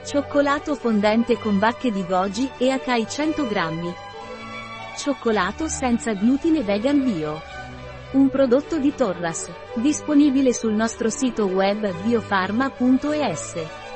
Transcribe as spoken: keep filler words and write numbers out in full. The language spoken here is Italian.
Cioccolato fondente con bacche di goji e acai cento grammi. Cioccolato senza glutine vegan bio. Un prodotto di Torras. Disponibile sul nostro sito web biofarma punto es.